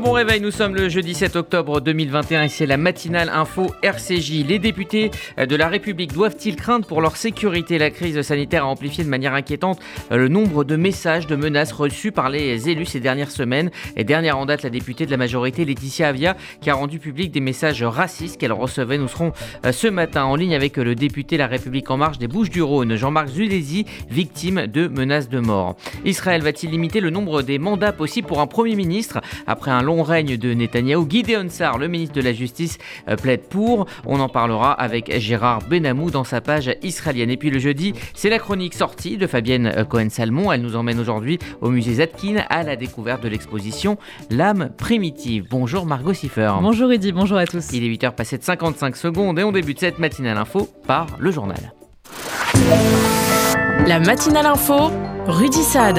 bon réveil, nous sommes le jeudi 7 octobre 2021 et c'est la matinale info RCJ. Les députés de la République doivent-ils craindre pour leur sécurité ? La crise sanitaire a amplifié de manière inquiétante le nombre de messages, de menaces reçus par les élus ces dernières semaines. Et dernière en date, la députée de la majorité, Laetitia Avia, qui a rendu public des messages racistes qu'elle recevait. Nous serons ce matin en ligne avec le député La République En Marche des Bouches-du-Rhône, Jean-Marc Zulesi, victime de menaces de mort. Israël va-t-il limiter le nombre des mandats possibles pour un Premier ministre ? Après un long règne de Netanyahou, Gideon Sa'ar, le ministre de la Justice, plaide pour. On en parlera avec Gérard Benamou dans sa page israélienne. Et puis le jeudi, c'est la chronique sortie de Fabienne Cohen-Salmon. Elle nous emmène aujourd'hui au musée Zadkine à la découverte de l'exposition L'âme primitive. Bonjour Margot Siffer. Bonjour Rudy, bonjour à tous. Il est 8h passé de 55 secondes et on débute cette matinale info par le journal. La matinale info, Rudy Saad.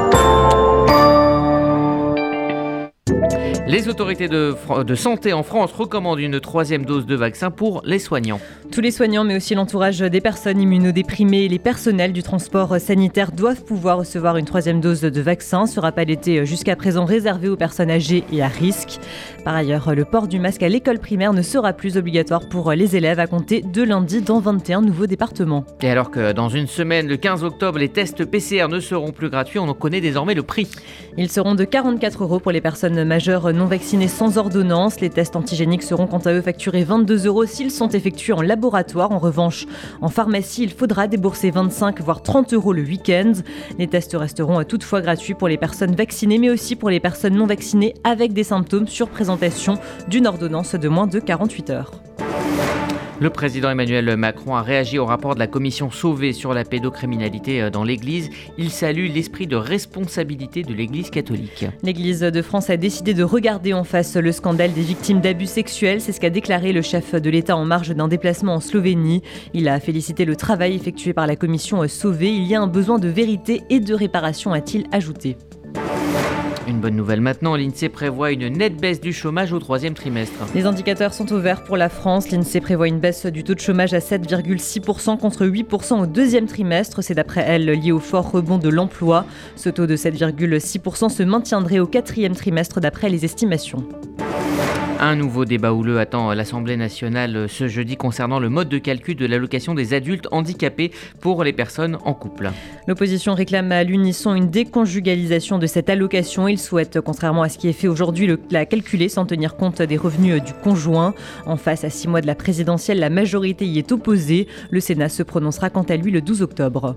Les autorités de santé en France recommandent une 3e dose de vaccin pour les soignants. Tous les soignants, mais aussi l'entourage des personnes immunodéprimées et les personnels du transport sanitaire doivent pouvoir recevoir une 3e dose de vaccin. Ce rappel était jusqu'à présent réservé aux personnes âgées et à risque. Par ailleurs, le port du masque à l'école primaire ne sera plus obligatoire pour les élèves à compter de lundi dans 21 nouveaux départements. Et alors que dans une semaine, le 15 octobre, les tests PCR ne seront plus gratuits, on en connaît désormais le prix. Ils seront de 44 € pour les personnes majeures non vaccinés sans ordonnance. Les tests antigéniques seront quant à eux facturés 22 € s'ils sont effectués en laboratoire. En revanche, en pharmacie, il faudra débourser 25 voire 30 € le week-end. Les tests resteront toutefois gratuits pour les personnes vaccinées, mais aussi pour les personnes non vaccinées avec des symptômes sur présentation d'une ordonnance de moins de 48 heures. Le président Emmanuel Macron a réagi au rapport de la commission Sauvé sur la pédocriminalité dans l'Église. Il salue l'esprit de responsabilité de l'Église catholique. L'Église de France a décidé de regarder en face le scandale des victimes d'abus sexuels. C'est ce qu'a déclaré le chef de l'État en marge d'un déplacement en Slovénie. Il a félicité le travail effectué par la commission Sauvé. Il y a un besoin de vérité et de réparation, a-t-il ajouté. Une bonne nouvelle maintenant, l'INSEE prévoit une nette baisse du chômage au 3e trimestre. Les indicateurs sont au vert pour la France. L'INSEE prévoit une baisse du taux de chômage à 7,6% contre 8% au 2e trimestre. C'est d'après elle lié au fort rebond de l'emploi. Ce taux de 7,6% se maintiendrait au 4e trimestre d'après les estimations. Un nouveau débat houleux attend l'Assemblée nationale ce jeudi concernant le mode de calcul de l'allocation des adultes handicapés pour les personnes en couple. L'opposition réclame à l'unisson une déconjugalisation de cette allocation. Il souhaite, contrairement à ce qui est fait aujourd'hui, la calculer sans tenir compte des revenus du conjoint. En face, à 6 mois de la présidentielle, la majorité y est opposée. Le Sénat se prononcera quant à lui le 12 octobre.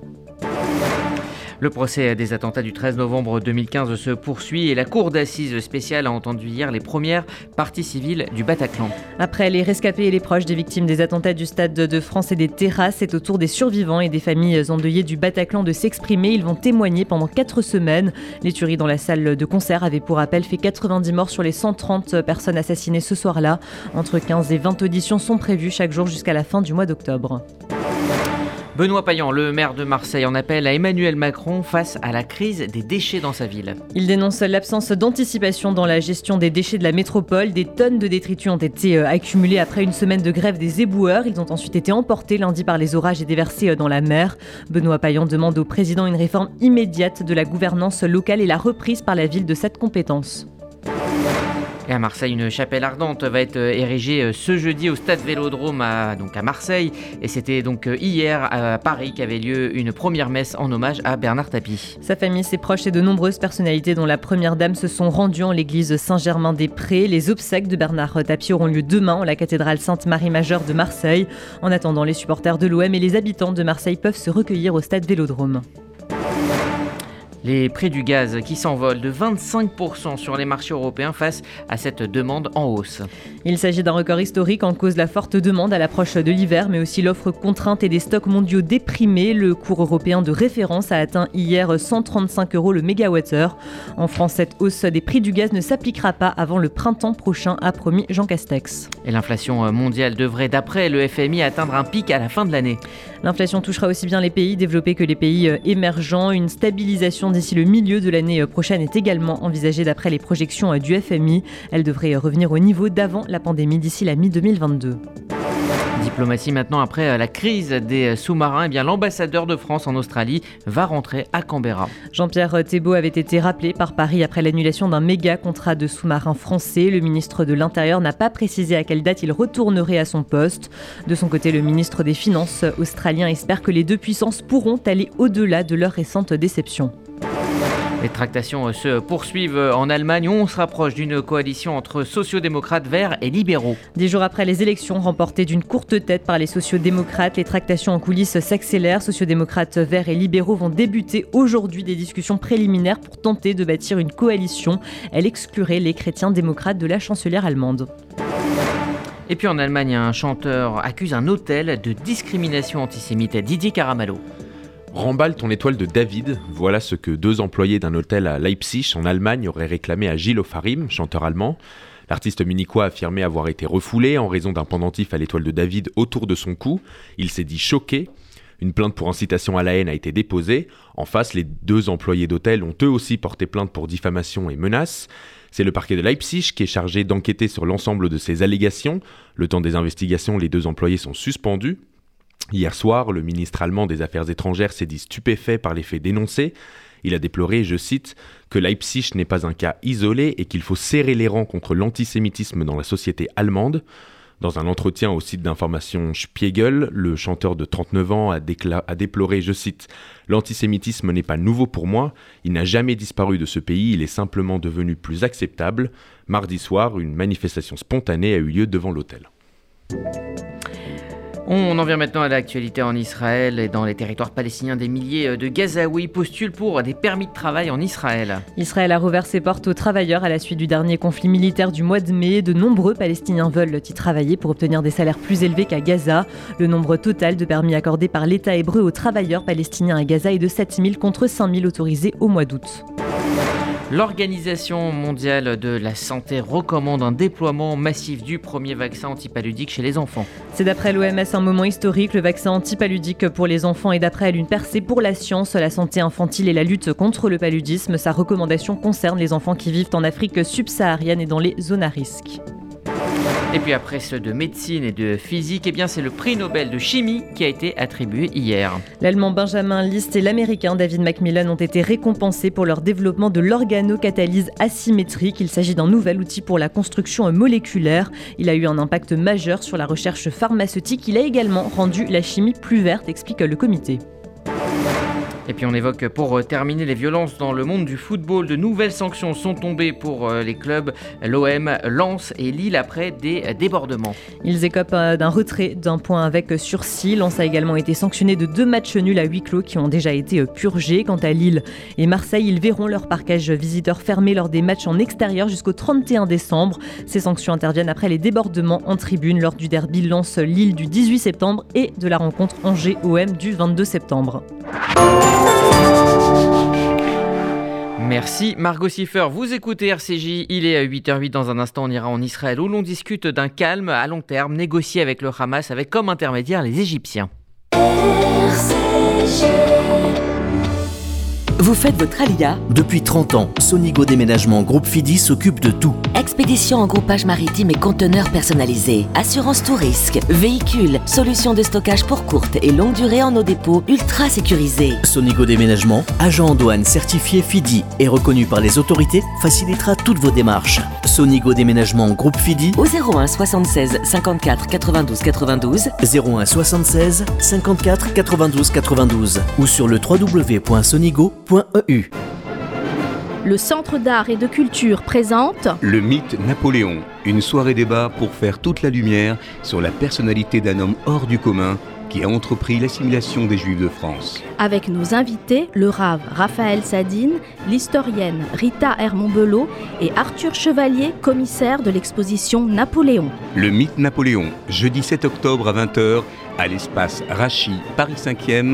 Le procès des attentats du 13 novembre 2015 se poursuit et la cour d'assises spéciale a entendu hier les premières parties civiles du Bataclan. Après les rescapés et les proches des victimes des attentats du Stade de France et des terrasses, c'est au tour des survivants et des familles endeuillées du Bataclan de s'exprimer. Ils vont témoigner pendant 4 semaines. Les tueries dans la salle de concert avaient pour rappel fait 90 morts sur les 130 personnes assassinées ce soir-là. Entre 15 et 20 auditions sont prévues chaque jour jusqu'à la fin du mois d'octobre. Benoît Payan, le maire de Marseille, en appelle à Emmanuel Macron face à la crise des déchets dans sa ville. Il dénonce l'absence d'anticipation dans la gestion des déchets de la métropole. Des tonnes de détritus ont été accumulées après une semaine de grève des éboueurs. Ils ont ensuite été emportés lundi par les orages et déversés dans la mer. Benoît Payan demande au président une réforme immédiate de la gouvernance locale et la reprise par la ville de cette compétence. Et à Marseille, une chapelle ardente va être érigée ce jeudi au stade Vélodrome à Marseille. Et c'était donc hier à Paris qu'avait lieu une première messe en hommage à Bernard Tapie. Sa famille, ses proches et de nombreuses personnalités dont la première dame se sont rendues en l'église Saint-Germain-des-Prés. Les obsèques de Bernard Tapie auront lieu demain en la cathédrale Sainte-Marie-Majeure de Marseille. En attendant, les supporters de l'OM et les habitants de Marseille peuvent se recueillir au stade Vélodrome. Les prix du gaz qui s'envolent de 25% sur les marchés européens face à cette demande en hausse. Il s'agit d'un record historique en cause la forte demande à l'approche de l'hiver, mais aussi l'offre contrainte et des stocks mondiaux déprimés. Le cours européen de référence a atteint hier 135 € le mégawattheure. En France, cette hausse des prix du gaz ne s'appliquera pas avant le printemps prochain, a promis Jean Castex. Et l'inflation mondiale devrait, d'après le FMI, atteindre un pic à la fin de l'année. L'inflation touchera aussi bien les pays développés que les pays émergents. Une stabilisation d'ici le milieu de l'année prochaine est également envisagée d'après les projections du FMI. Elle devrait revenir au niveau d'avant la pandémie d'ici la mi-2022. Diplomatie maintenant, après la crise des sous-marins, eh bien, l'ambassadeur de France en Australie va rentrer à Canberra. Jean-Pierre Thébault avait été rappelé par Paris après l'annulation d'un méga contrat de sous-marins français. Le ministre de l'Intérieur n'a pas précisé à quelle date il retournerait à son poste. De son côté, le ministre des Finances australien espère que les deux puissances pourront aller au-delà de leur récente déception. Les tractations se poursuivent en Allemagne où on se rapproche d'une coalition entre sociodémocrates, verts et libéraux. 10 jours après les élections remportées d'une courte tête par les sociodémocrates, les tractations en coulisses s'accélèrent. Sociodémocrates, verts et libéraux vont débuter aujourd'hui des discussions préliminaires pour tenter de bâtir une coalition. Elle exclurait les chrétiens démocrates de la chancelière allemande. Et puis en Allemagne, un chanteur accuse un hôtel de discrimination antisémite. Didier Caramallo. Remballe ton étoile de David, voilà ce que 2 employés d'un hôtel à Leipzig, en Allemagne, auraient réclamé à Gilles Ofarim, chanteur allemand. L'artiste munichois a affirmé avoir été refoulé en raison d'un pendentif à l'étoile de David autour de son cou. Il s'est dit choqué. Une plainte pour incitation à la haine a été déposée. En face, les 2 employés d'hôtel ont eux aussi porté plainte pour diffamation et menaces. C'est le parquet de Leipzig qui est chargé d'enquêter sur l'ensemble de ces allégations. Le temps des investigations, les 2 employés sont suspendus. Hier soir, le ministre allemand des Affaires étrangères s'est dit stupéfait par les faits dénoncés. Il a déploré, je cite, que Leipzig n'est pas un cas isolé et qu'il faut serrer les rangs contre l'antisémitisme dans la société allemande. Dans un entretien au site d'information Spiegel, le chanteur de 39 ans a déploré, je cite, « L'antisémitisme n'est pas nouveau pour moi, il n'a jamais disparu de ce pays, il est simplement devenu plus acceptable. » Mardi soir, une manifestation spontanée a eu lieu devant l'hôtel. On en vient maintenant à l'actualité en Israël et dans les territoires palestiniens. Des milliers de Gazaouis postulent pour des permis de travail en Israël. Israël a rouvert ses portes aux travailleurs à la suite du dernier conflit militaire du mois de mai. De nombreux Palestiniens veulent y travailler pour obtenir des salaires plus élevés qu'à Gaza. Le nombre total de permis accordés par l'État hébreu aux travailleurs palestiniens à Gaza est de 7 000 contre 5 000 autorisés au mois d'août. L'Organisation mondiale de la santé recommande un déploiement massif du premier vaccin antipaludique chez les enfants. C'est d'après l'OMS un moment historique. Le vaccin antipaludique pour les enfants est d'après elle une percée pour la science, la santé infantile et la lutte contre le paludisme. Sa recommandation concerne les enfants qui vivent en Afrique subsaharienne et dans les zones à risque. Et puis après ceux de médecine et de physique, eh bien c'est le prix Nobel de chimie qui a été attribué hier. L'Allemand Benjamin List et l'Américain David Macmillan ont été récompensés pour leur développement de l'organocatalyse asymétrique. Il s'agit d'un nouvel outil pour la construction moléculaire. Il a eu un impact majeur sur la recherche pharmaceutique. Il a également rendu la chimie plus verte, explique le comité. Et puis on évoque pour terminer les violences dans le monde du football. De nouvelles sanctions sont tombées pour les clubs l'OM, Lens et Lille après des débordements. Ils écopent d'un retrait d'un point avec sursis. Lens a également été sanctionné de 2 matchs nuls à huis clos qui ont déjà été purgés. Quant à Lille et Marseille, ils verront leur parquage visiteur fermé lors des matchs en extérieur jusqu'au 31 décembre. Ces sanctions interviennent après les débordements en tribune lors du derby Lens-Lille du 18 septembre et de la rencontre Angers-OM du 22 septembre. Merci Margot Siffer, vous écoutez RCJ, il est à 8h08, dans un instant on ira en Israël où l'on discute d'un calme à long terme négocié avec le Hamas avec comme intermédiaire les Égyptiens. RCJ. Vous faites votre Alia ? Depuis 30 ans, Sonigo Déménagement Groupe Fidi s'occupe de tout. Expédition en groupage maritime et conteneurs personnalisés. Assurance tout risque. Véhicules. Solutions de stockage pour courte et longue durée en nos dépôts ultra sécurisés. Sonigo Déménagement, agent en douane certifié Fidi et reconnu par les autorités, facilitera toutes vos démarches. Sonigo Déménagement Groupe Fidi au 01 76 54 92 92 01 76 54 92 92 ou sur le www.sonigo.eu. Le Centre d'art et de culture présente Le mythe Napoléon, une soirée débat pour faire toute la lumière sur la personnalité d'un homme hors du commun qui a entrepris l'assimilation des Juifs de France. Avec nos invités, le rave Raphaël Sadine, l'historienne Rita Hermont-Belot et Arthur Chevalier, commissaire de l'exposition Napoléon. Le mythe Napoléon, jeudi 7 octobre à 20h, à l'espace Rachi, Paris 5e,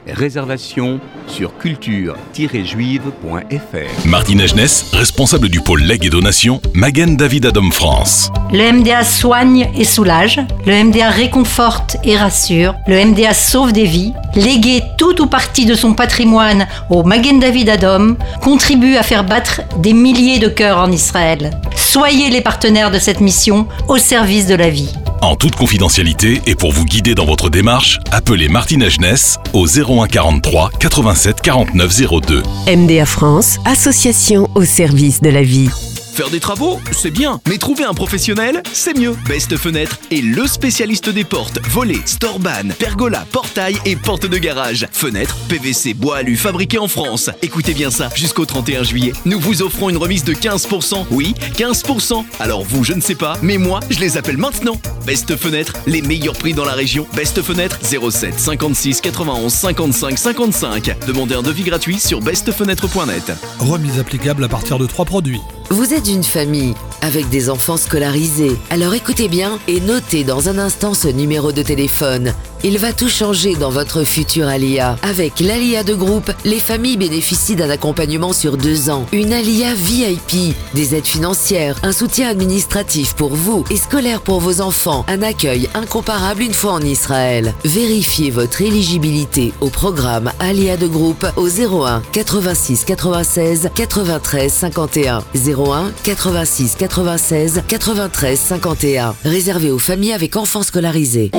Réservation sur culture-juive.fr. Martine Agenès, responsable du pôle legs et donations, Magen David Adom France. Le MDA soigne et soulage, le MDA réconforte et rassure, le MDA sauve des vies. Léguer tout ou partie de son patrimoine au Magen David Adom contribue à faire battre des milliers de cœurs en Israël. Soyez les partenaires de cette mission au service de la vie. En toute confidentialité et pour vous guider dans votre démarche, appelez Martine Agenès au 01 43 87 49 02. MDA France, association au service de la vie. Faire des travaux, c'est bien, mais trouver un professionnel, c'est mieux. Best Fenêtre est le spécialiste des portes, volets, storban, pergolas, portails et portes de garage. Fenêtres, PVC, bois alu, fabriqués en France. Écoutez bien ça, jusqu'au 31 juillet, nous vous offrons une remise de 15%. Oui, 15%. Alors vous, je ne sais pas, mais moi, je les appelle maintenant. Best Fenêtre, les meilleurs prix dans la région. Best Fenêtre, 07 56 91 55 55. Demandez un devis gratuit sur bestfenêtre.net. Remise applicable à partir de 3 produits. Vous êtes une famille avec des enfants scolarisés. Alors écoutez bien et notez dans un instant ce numéro de téléphone. Il va tout changer dans votre futur Alia. Avec l'Alia de groupe, les familles bénéficient d'un accompagnement sur 2 ans. Une Alia VIP, des aides financières, un soutien administratif pour vous et scolaire pour vos enfants, un accueil incomparable une fois en Israël. Vérifiez votre éligibilité au programme Alia de groupe au 01 86 96 93 51. 01 86 96 93 51. Réservé aux familles avec enfants scolarisés.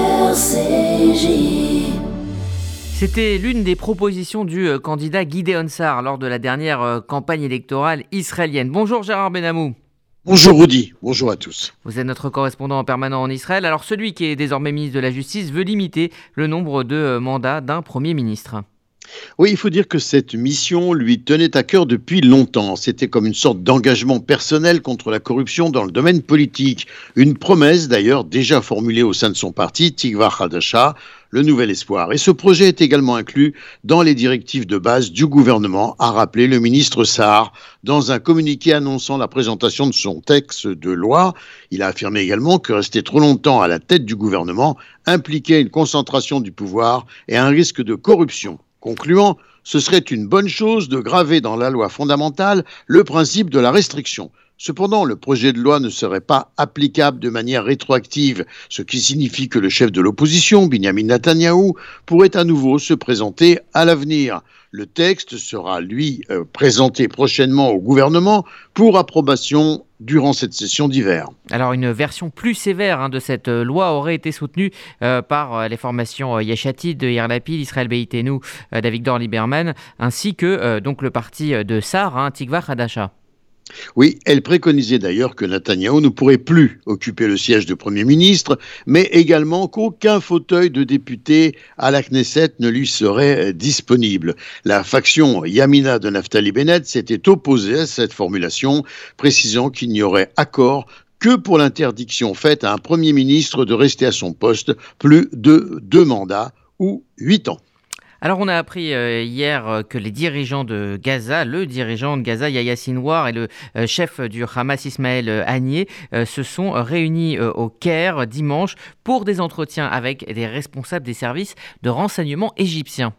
C'était l'une des propositions du candidat Gideon Sa'ar lors de la dernière campagne électorale israélienne. Bonjour Gérard Benamou. Bonjour Rudy, bonjour à tous. Vous êtes notre correspondant permanent en Israël. Alors celui qui est désormais ministre de la Justice veut limiter le nombre de mandats d'un Premier ministre. Oui, il faut dire que cette mission lui tenait à cœur depuis longtemps. C'était comme une sorte d'engagement personnel contre la corruption dans le domaine politique. Une promesse d'ailleurs déjà formulée au sein de son parti, Tikva Hadasha, le Nouvel Espoir. Et ce projet est également inclus dans les directives de base du gouvernement, a rappelé le ministre Sa'ar dans un communiqué annonçant la présentation de son texte de loi. Il a affirmé également que rester trop longtemps à la tête du gouvernement impliquait une concentration du pouvoir et un risque de corruption. Concluant, ce serait une bonne chose de graver dans la loi fondamentale le principe de la restriction. Cependant, le projet de loi ne serait pas applicable de manière rétroactive, ce qui signifie que le chef de l'opposition, Binyamin Netanyahou, pourrait à nouveau se présenter à l'avenir. Le texte sera, lui, présenté prochainement au gouvernement pour approbation durant cette session d'hiver. Alors une version plus sévère de cette loi aurait été soutenue par les formations Yesh Atid, Yair Lapid, Israël Beitenu, d'Avigdor Lieberman, ainsi que donc le parti de Sa'ar, Tikva Hadasha. Oui, elle préconisait d'ailleurs que Netanyahou ne pourrait plus occuper le siège de Premier ministre, mais également qu'aucun fauteuil de député à la Knesset ne lui serait disponible. La faction Yamina de Naftali Bennett s'était opposée à cette formulation, précisant qu'il n'y aurait accord que pour l'interdiction faite à un Premier ministre de rester à son poste plus de 2 mandats ou 8 ans. Alors on a appris hier que les dirigeants de Gaza, le dirigeant de Gaza Yahya Sinwar et le chef du Hamas Ismaël Haniyeh se sont réunis au Caire dimanche pour des entretiens avec des responsables des services de renseignement égyptiens.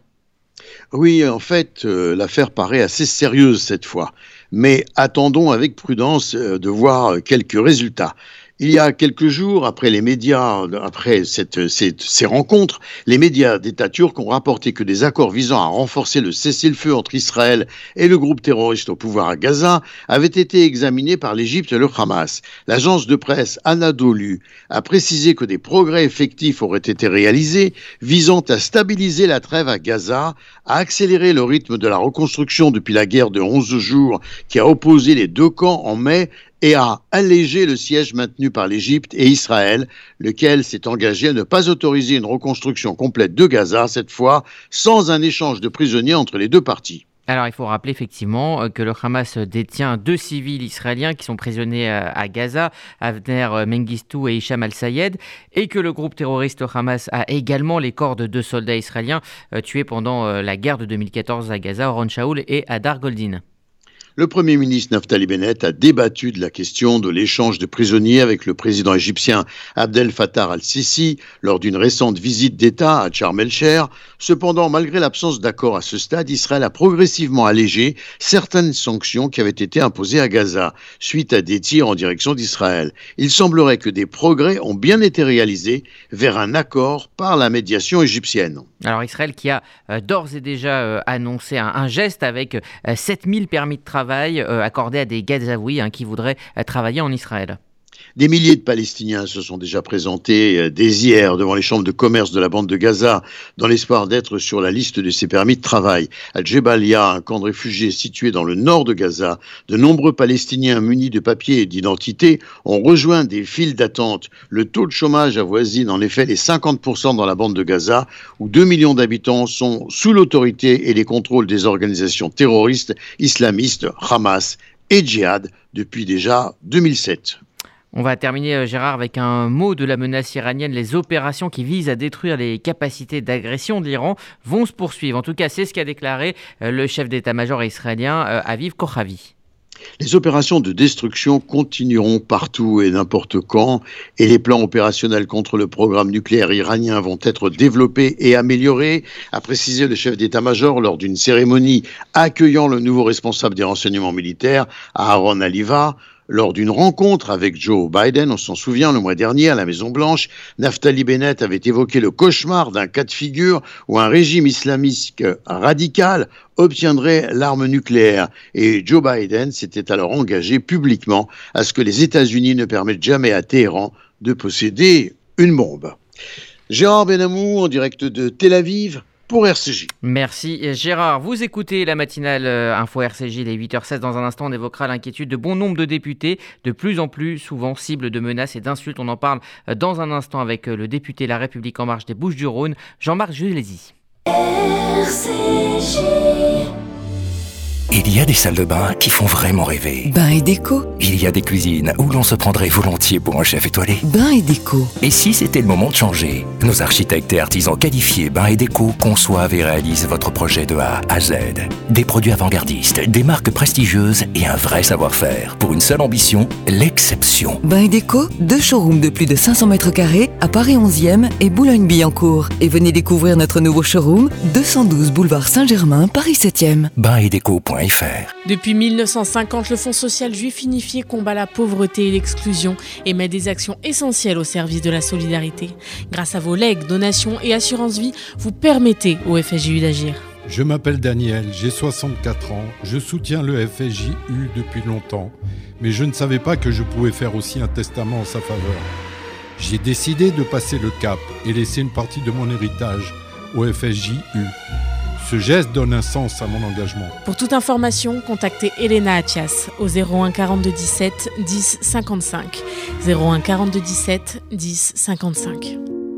Oui, en fait, l'affaire paraît assez sérieuse cette fois, mais attendons avec prudence de voir quelques résultats. Il y a quelques jours, après ces rencontres, les médias d'État turcs ont rapporté que des accords visant à renforcer le cessez-le-feu entre Israël et le groupe terroriste au pouvoir à Gaza avaient été examinés par l'Égypte et le Hamas. L'agence de presse Anadolu a précisé que des progrès effectifs auraient été réalisés visant à stabiliser la trêve à Gaza, à accélérer le rythme de la reconstruction depuis la guerre de 11 jours qui a opposé les 2 camps en mai et à alléger le siège maintenu par l'Égypte et Israël, lequel s'est engagé à ne pas autoriser une reconstruction complète de Gaza, cette fois sans un échange de prisonniers entre les 2 parties. Alors il faut rappeler effectivement que le Hamas détient 2 civils israéliens qui sont prisonniers à Gaza, Avner Mengistu et Hicham al-Sayed, et que le groupe terroriste Hamas a également les corps de 2 soldats israéliens tués pendant la guerre de 2014 à Gaza, Oron Shaul et Hadar Goldin. Le Premier ministre Naftali Bennett a débattu de la question de l'échange de prisonniers avec le président égyptien Abdel Fattah al-Sisi lors d'une récente visite d'État à Sharm el-Sheikh. Cependant, malgré l'absence d'accord à ce stade, Israël a progressivement allégé certaines sanctions qui avaient été imposées à Gaza suite à des tirs en direction d'Israël. Il semblerait que des progrès ont bien été réalisés vers un accord par la médiation égyptienne. Alors Israël qui a d'ores et déjà annoncé un geste avec 7000 permis de travail accordés à des Gazaouis qui voudraient travailler en Israël. Des milliers de Palestiniens se sont déjà présentés dès hier devant les chambres de commerce de la bande de Gaza dans l'espoir d'être sur la liste de ces permis de travail. À Djebalia, un camp de réfugiés situé dans le nord de Gaza, de nombreux Palestiniens munis de papiers et d'identité ont rejoint des files d'attente. Le taux de chômage avoisine en effet les 50% dans la bande de Gaza, où 2 millions d'habitants sont sous l'autorité et les contrôles des organisations terroristes islamistes Hamas et Djihad depuis déjà 2007. On va terminer, Gérard, avec un mot de la menace iranienne. Les opérations qui visent à détruire les capacités d'agression de l'Iran vont se poursuivre. En tout cas, c'est ce qu'a déclaré le chef d'état-major israélien, Aviv Kochavi. Les opérations de destruction continueront partout et n'importe quand, et les plans opérationnels contre le programme nucléaire iranien vont être développés et améliorés, a précisé le chef d'état-major lors d'une cérémonie accueillant le nouveau responsable des renseignements militaires, Aaron Aliva. Lors d'une rencontre avec Joe Biden, on s'en souvient, le mois dernier à la Maison-Blanche, Naftali Bennett avait évoqué le cauchemar d'un cas de figure où un régime islamiste radical obtiendrait l'arme nucléaire. Et Joe Biden s'était alors engagé publiquement à ce que les États-Unis ne permettent jamais à Téhéran de posséder une bombe. Gérard Benamou en direct de Tel Aviv pour RCJ. Merci Gérard. Vous écoutez la matinale Info RCJ, les 8h16. Dans un instant, on évoquera l'inquiétude de bon nombre de députés, de plus en plus souvent cibles de menaces et d'insultes. On en parle dans un instant avec le député La République En Marche des Bouches-du-Rhône, Jean-Marc Julézy. RCJ. Il y a des salles de bain qui font vraiment rêver. Bain et déco. Il y a des cuisines où l'on se prendrait volontiers pour un chef étoilé. Bain et déco. Et si c'était le moment de changer? Nos architectes et artisans qualifiés Bain et déco conçoivent et réalisent votre projet de A à Z. Des produits avant-gardistes, des marques prestigieuses et un vrai savoir-faire. Pour une seule ambition, l'exception. Bain et déco, 2 showrooms de plus de 500 mètres carrés à Paris 11e et Boulogne-Billancourt. Et venez découvrir notre nouveau showroom, 212 boulevard Saint-Germain, Paris 7e. Bainetdeco.fr. Depuis 1950, le Fonds social juif unifié combat la pauvreté et l'exclusion et met des actions essentielles au service de la solidarité. Grâce à vos legs, donations et assurances vie, vous permettez au FSJU d'agir. Je m'appelle Daniel, j'ai 64 ans, je soutiens le FSJU depuis longtemps, mais je ne savais pas que je pouvais faire aussi un testament en sa faveur. J'ai décidé de passer le cap et laisser une partie de mon héritage au FSJU. Ce geste donne un sens à mon engagement. Pour toute information, contactez Elena Atias au 01 42 17 10 55. 01 42 17 10 55.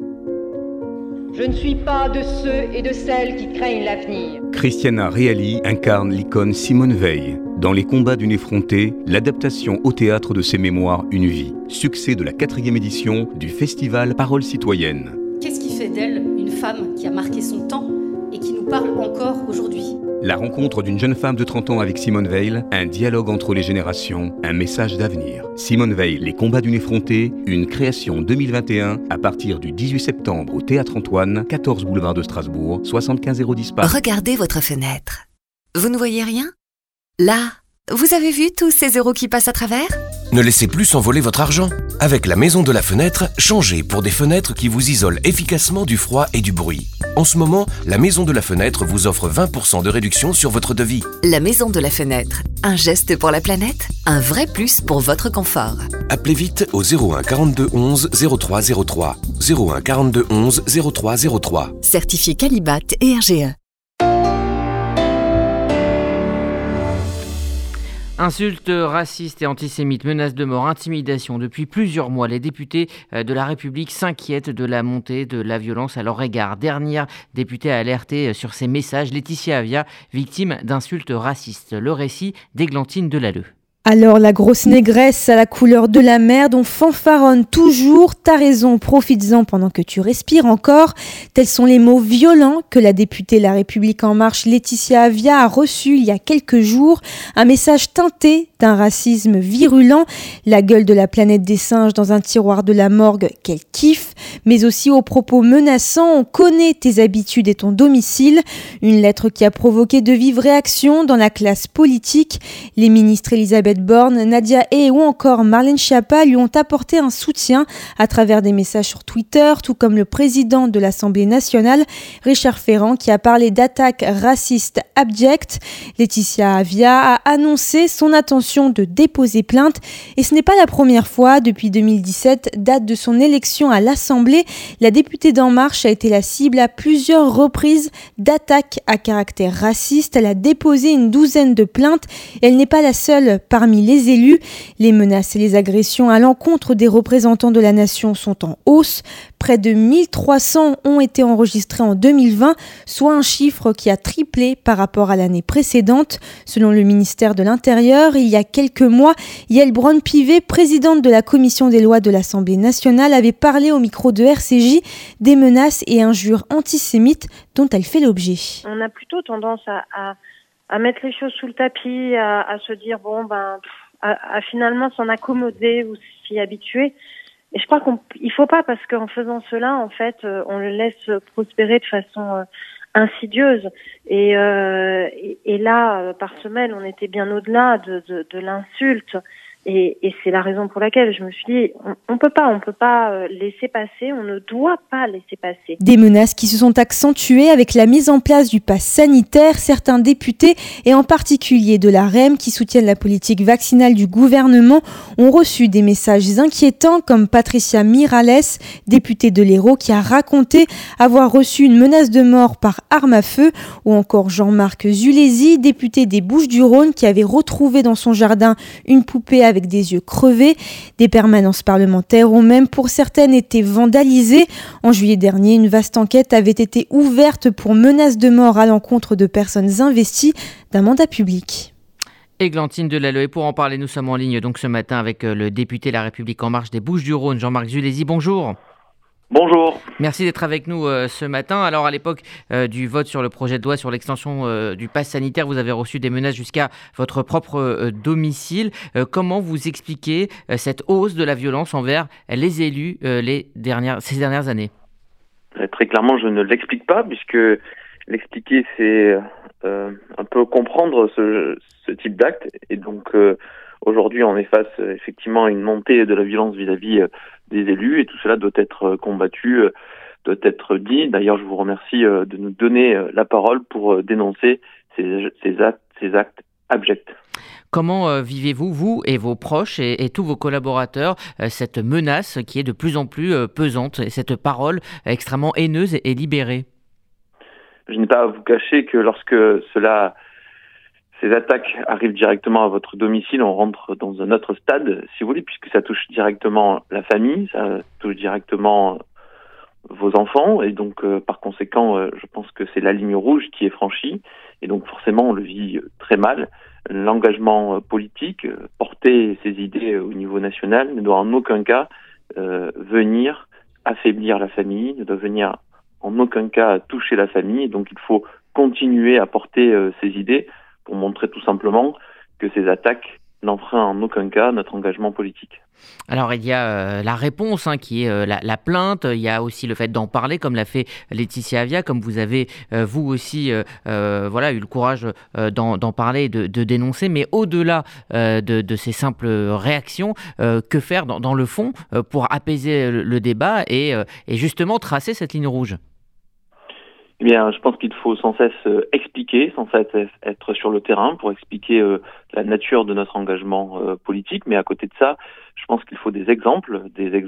Je ne suis pas de ceux et de celles qui craignent l'avenir. Christiana Reali incarne l'icône Simone Veil. Dans Les combats d'une effrontée, l'adaptation au théâtre de ses mémoires Une vie. Succès de la 4e édition du festival Paroles citoyennes. Qu'est-ce qui fait d'elle une femme qui a marqué son temps et qui nous parle encore aujourd'hui? La rencontre d'une jeune femme de 30 ans avec Simone Veil, un dialogue entre les générations, un message d'avenir. Simone Veil, Les combats d'une effrontée, une création 2021 à partir du 18 septembre au Théâtre Antoine, 14 boulevard de Strasbourg, 75 010 Paris. Regardez votre fenêtre. Vous ne voyez rien? Là, vous avez vu tous ces euros qui passent à travers? Ne laissez plus s'envoler votre argent. Avec la Maison de la Fenêtre, changez pour des fenêtres qui vous isolent efficacement du froid et du bruit. En ce moment, la Maison de la Fenêtre vous offre 20% de réduction sur votre devis. La Maison de la Fenêtre. Un geste pour la planète, un vrai plus pour votre confort. Appelez vite au 01 42 11 03 03. 01 42 11 03 03. Certifié Qualibat et RGE. Insultes racistes et antisémites, menaces de mort, intimidation. Depuis plusieurs mois, les députés de La République s'inquiètent de la montée de la violence à leur égard. Dernière députée à alerter sur ces messages, Laetitia Avia, victime d'insultes racistes. Le récit d'Églantine Delalleux. Alors la grosse négresse à la couleur de la merde, on fanfaronne toujours, t'as raison, profites-en pendant que tu respires encore. Tels sont les mots violents que la députée La République En Marche Laetitia Avia a reçus il y a quelques jours. Un message teinté d'un racisme virulent, la gueule de la planète des singes dans un tiroir de la morgue, quel kiff, mais aussi aux propos menaçants, on connaît tes habitudes et ton domicile. Une lettre qui a provoqué de vives réactions dans la classe politique. Les ministres Elisabeth Borne, Nadia Hay ou encore Marlène Schiappa lui ont apporté un soutien à travers des messages sur Twitter, tout comme le président de l'Assemblée nationale, Richard Ferrand, qui a parlé d'attaques racistes abjectes. Laetitia Avia a annoncé son intention de déposer plainte et ce n'est pas la première fois. Depuis 2017, date de son élection à l'Assemblée, la députée d'En Marche a été la cible à plusieurs reprises d'attaques à caractère raciste. Elle a déposé une douzaine de plaintes et elle n'est pas la seule parmi les élus. Les menaces et les agressions à l'encontre des représentants de la nation sont en hausse. Près de 1300 ont été enregistrés en 2020, soit un chiffre qui a triplé par rapport à l'année précédente. Selon le ministère de l'Intérieur, il y a quelques mois, Yael Braun-Pivet, présidente de la commission des lois de l'Assemblée nationale, avait parlé au micro de RCJ des menaces et injures antisémites dont elle fait l'objet. On a plutôt tendance à mettre les choses sous le tapis, à se dire à finalement s'en accommoder ou s'y habituer. Et je crois qu'il faut pas, parce qu'en faisant cela, en fait, on le laisse prospérer de façon insidieuse. Et là, par semaine, on était bien au-delà de l'insulte. Et c'est la raison pour laquelle je me suis dit, on peut pas laisser passer, on ne doit pas laisser passer. Des menaces qui se sont accentuées avec la mise en place du pass sanitaire. Certains députés, et en particulier de la REM, qui soutiennent la politique vaccinale du gouvernement, ont reçu des messages inquiétants, comme Patricia Miralles, députée de l'Hérault, qui a raconté avoir reçu une menace de mort par arme à feu, ou encore Jean-Marc Zulesi, député des Bouches-du-Rhône, qui avait retrouvé dans son jardin une poupée avec des yeux crevés. Des permanences parlementaires ont même pour certaines été vandalisées. En juillet dernier, une vaste enquête avait été ouverte pour menaces de mort à l'encontre de personnes investies d'un mandat public. Églantine Delalleux, pour en parler, nous sommes en ligne donc ce matin avec le député La République En Marche des Bouches-du-Rhône, Jean-Marc Zulesi. Bonjour. Bonjour. Merci d'être avec nous ce matin. Alors à l'époque du vote sur le projet de loi sur l'extension du pass sanitaire, vous avez reçu des menaces jusqu'à votre propre domicile. Comment vous expliquez cette hausse de la violence envers les élus ces dernières années ? Très clairement, je ne l'explique pas, puisque l'expliquer, c'est un peu comprendre ce type d'acte. Et donc aujourd'hui, on est face effectivement à une montée de la violence vis-à-vis des élus, et tout cela doit être combattu, doit être dit. D'ailleurs, je vous remercie de nous donner la parole pour dénoncer ces actes abjects. Comment vivez-vous, vous et vos proches et tous vos collaborateurs, cette menace qui est de plus en plus pesante, et cette parole extrêmement haineuse et libérée ? Je n'ai pas à vous cacher que lorsque ces attaques arrivent directement à votre domicile, on rentre dans un autre stade, si vous voulez, puisque ça touche directement la famille, ça touche directement vos enfants, et donc par conséquent, je pense que c'est la ligne rouge qui est franchie, et donc forcément on le vit très mal. L'engagement politique, porter ses idées au niveau national, ne doit en aucun cas venir affaiblir la famille, ne doit venir en aucun cas toucher la famille, et donc il faut continuer à porter ses idées pour montrer tout simplement que ces attaques n'enfreignent en aucun cas notre engagement politique. Alors il y a la réponse qui est la plainte, il y a aussi le fait d'en parler comme l'a fait Laetitia Avia, comme vous avez vous aussi eu le courage d'en parler et de dénoncer, mais au-delà de ces simples réactions, que faire dans le fond pour apaiser le débat et justement tracer cette ligne rouge ? Eh bien, je pense qu'il faut sans cesse expliquer, sans cesse être sur le terrain pour expliquer la nature de notre engagement politique. Mais à côté de ça, je pense qu'il faut des exemples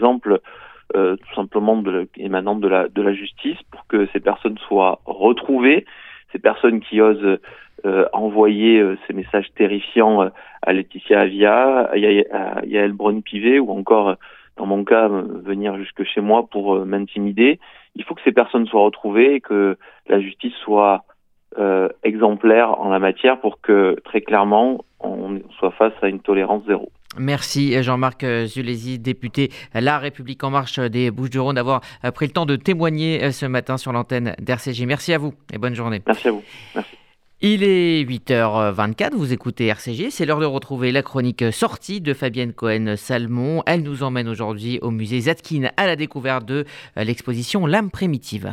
tout simplement émanant de la justice pour que ces personnes soient retrouvées, ces personnes qui osent envoyer ces messages terrifiants à Laetitia Avia, à Yael Braun-Pivet ou encore, dans mon cas, venir jusque chez moi pour m'intimider. Il faut que ces personnes soient retrouvées et que la justice soit exemplaire en la matière pour que très clairement on soit face à une tolérance zéro. Merci Jean-Marc Zulesi, député La République En Marche des Bouches-du-Rhône, d'avoir pris le temps de témoigner ce matin sur l'antenne d'RCJ. Merci à vous et bonne journée. Merci à vous. Merci. Il est 8h24, vous écoutez RCJ, c'est l'heure de retrouver la chronique sortie de Fabienne Cohen-Salmon. Elle nous emmène aujourd'hui au musée Zadkine à la découverte de l'exposition L'âme primitive.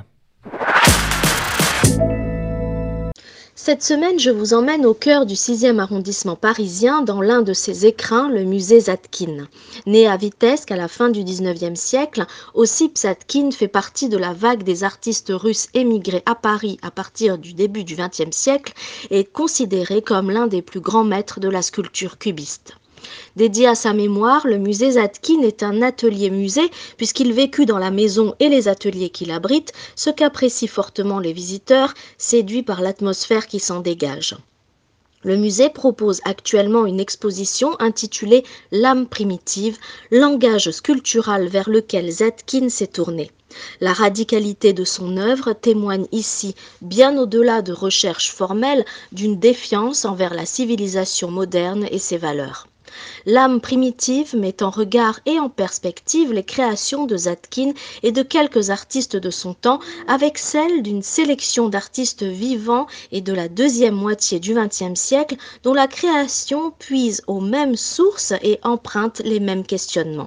Cette semaine, je vous emmène au cœur du 6e arrondissement parisien, dans l'un de ses écrins, le musée Zadkine. Né à Vitebsk à la fin du 19e siècle, Ossip Zadkine fait partie de la vague des artistes russes émigrés à Paris à partir du début du 20e siècle et est considéré comme l'un des plus grands maîtres de la sculpture cubiste. Dédié à sa mémoire, le musée Zadkine est un atelier-musée puisqu'il vécut dans la maison et les ateliers qu'il abrite, ce qu'apprécient fortement les visiteurs, séduits par l'atmosphère qui s'en dégage. Le musée propose actuellement une exposition intitulée « L'âme primitive », langage sculptural vers lequel Zadkine s'est tourné. La radicalité de son œuvre témoigne ici, bien au-delà de recherches formelles, d'une défiance envers la civilisation moderne et ses valeurs. L'âme primitive met en regard et en perspective les créations de Zadkine et de quelques artistes de son temps avec celles d'une sélection d'artistes vivants et de la deuxième moitié du XXe siècle dont la création puise aux mêmes sources et emprunte les mêmes questionnements.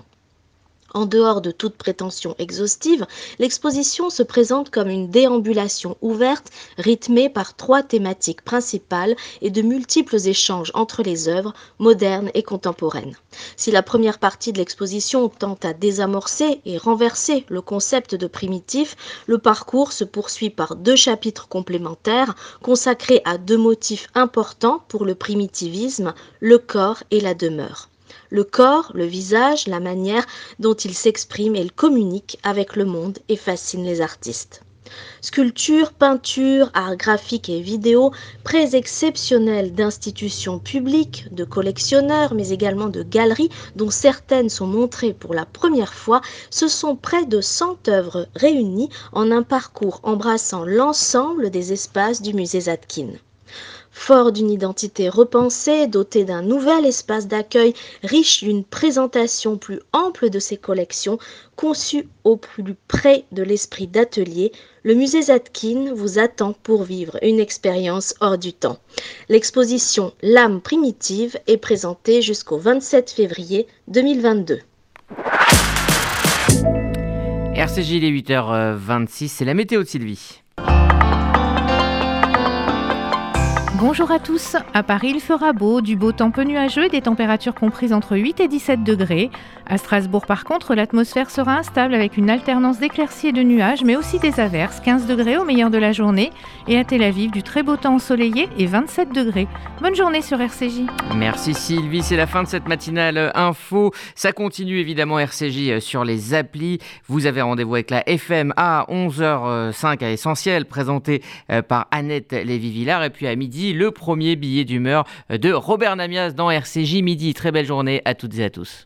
En dehors de toute prétention exhaustive, l'exposition se présente comme une déambulation ouverte, rythmée par 3 thématiques principales et de multiples échanges entre les œuvres, modernes et contemporaines. Si la première partie de l'exposition tente à désamorcer et renverser le concept de primitif, le parcours se poursuit par 2 chapitres complémentaires consacrés à 2 motifs importants pour le primitivisme, le corps et la demeure. Le corps, le visage, la manière dont il s'exprime et il communique avec le monde et fascine les artistes. Sculpture, peinture, art graphique et vidéo, prêts exceptionnels d'institutions publiques, de collectionneurs, mais également de galeries, dont certaines sont montrées pour la première fois, ce sont près de 100 œuvres réunies en un parcours embrassant l'ensemble des espaces du musée Zadkine. Fort d'une identité repensée, doté d'un nouvel espace d'accueil, riche d'une présentation plus ample de ses collections, conçu au plus près de l'esprit d'atelier, le musée Zadkine vous attend pour vivre une expérience hors du temps. L'exposition L'âme primitive est présentée jusqu'au 27 février 2022. RCJ, il est 8h26, c'est la météo de Sylvie. Bonjour à tous, à Paris il fera beau, du beau temps peu nuageux, des températures comprises entre 8 et 17 degrés. À Strasbourg par contre, l'atmosphère sera instable avec une alternance d'éclaircies et de nuages, mais aussi des averses, 15 degrés au meilleur de la journée. Et à Tel Aviv, du très beau temps ensoleillé et 27 degrés. Bonne journée sur RCJ. Merci Sylvie, c'est la fin de cette matinale info. Ça continue évidemment RCJ sur les applis. Vous avez rendez-vous avec la FM à 11h05 à Essentiel, présenté par Annette Lévy-Villard. Et puis à midi, le premier billet d'humeur de Robert Namias dans RCJ Midi. Très belle journée à toutes et à tous.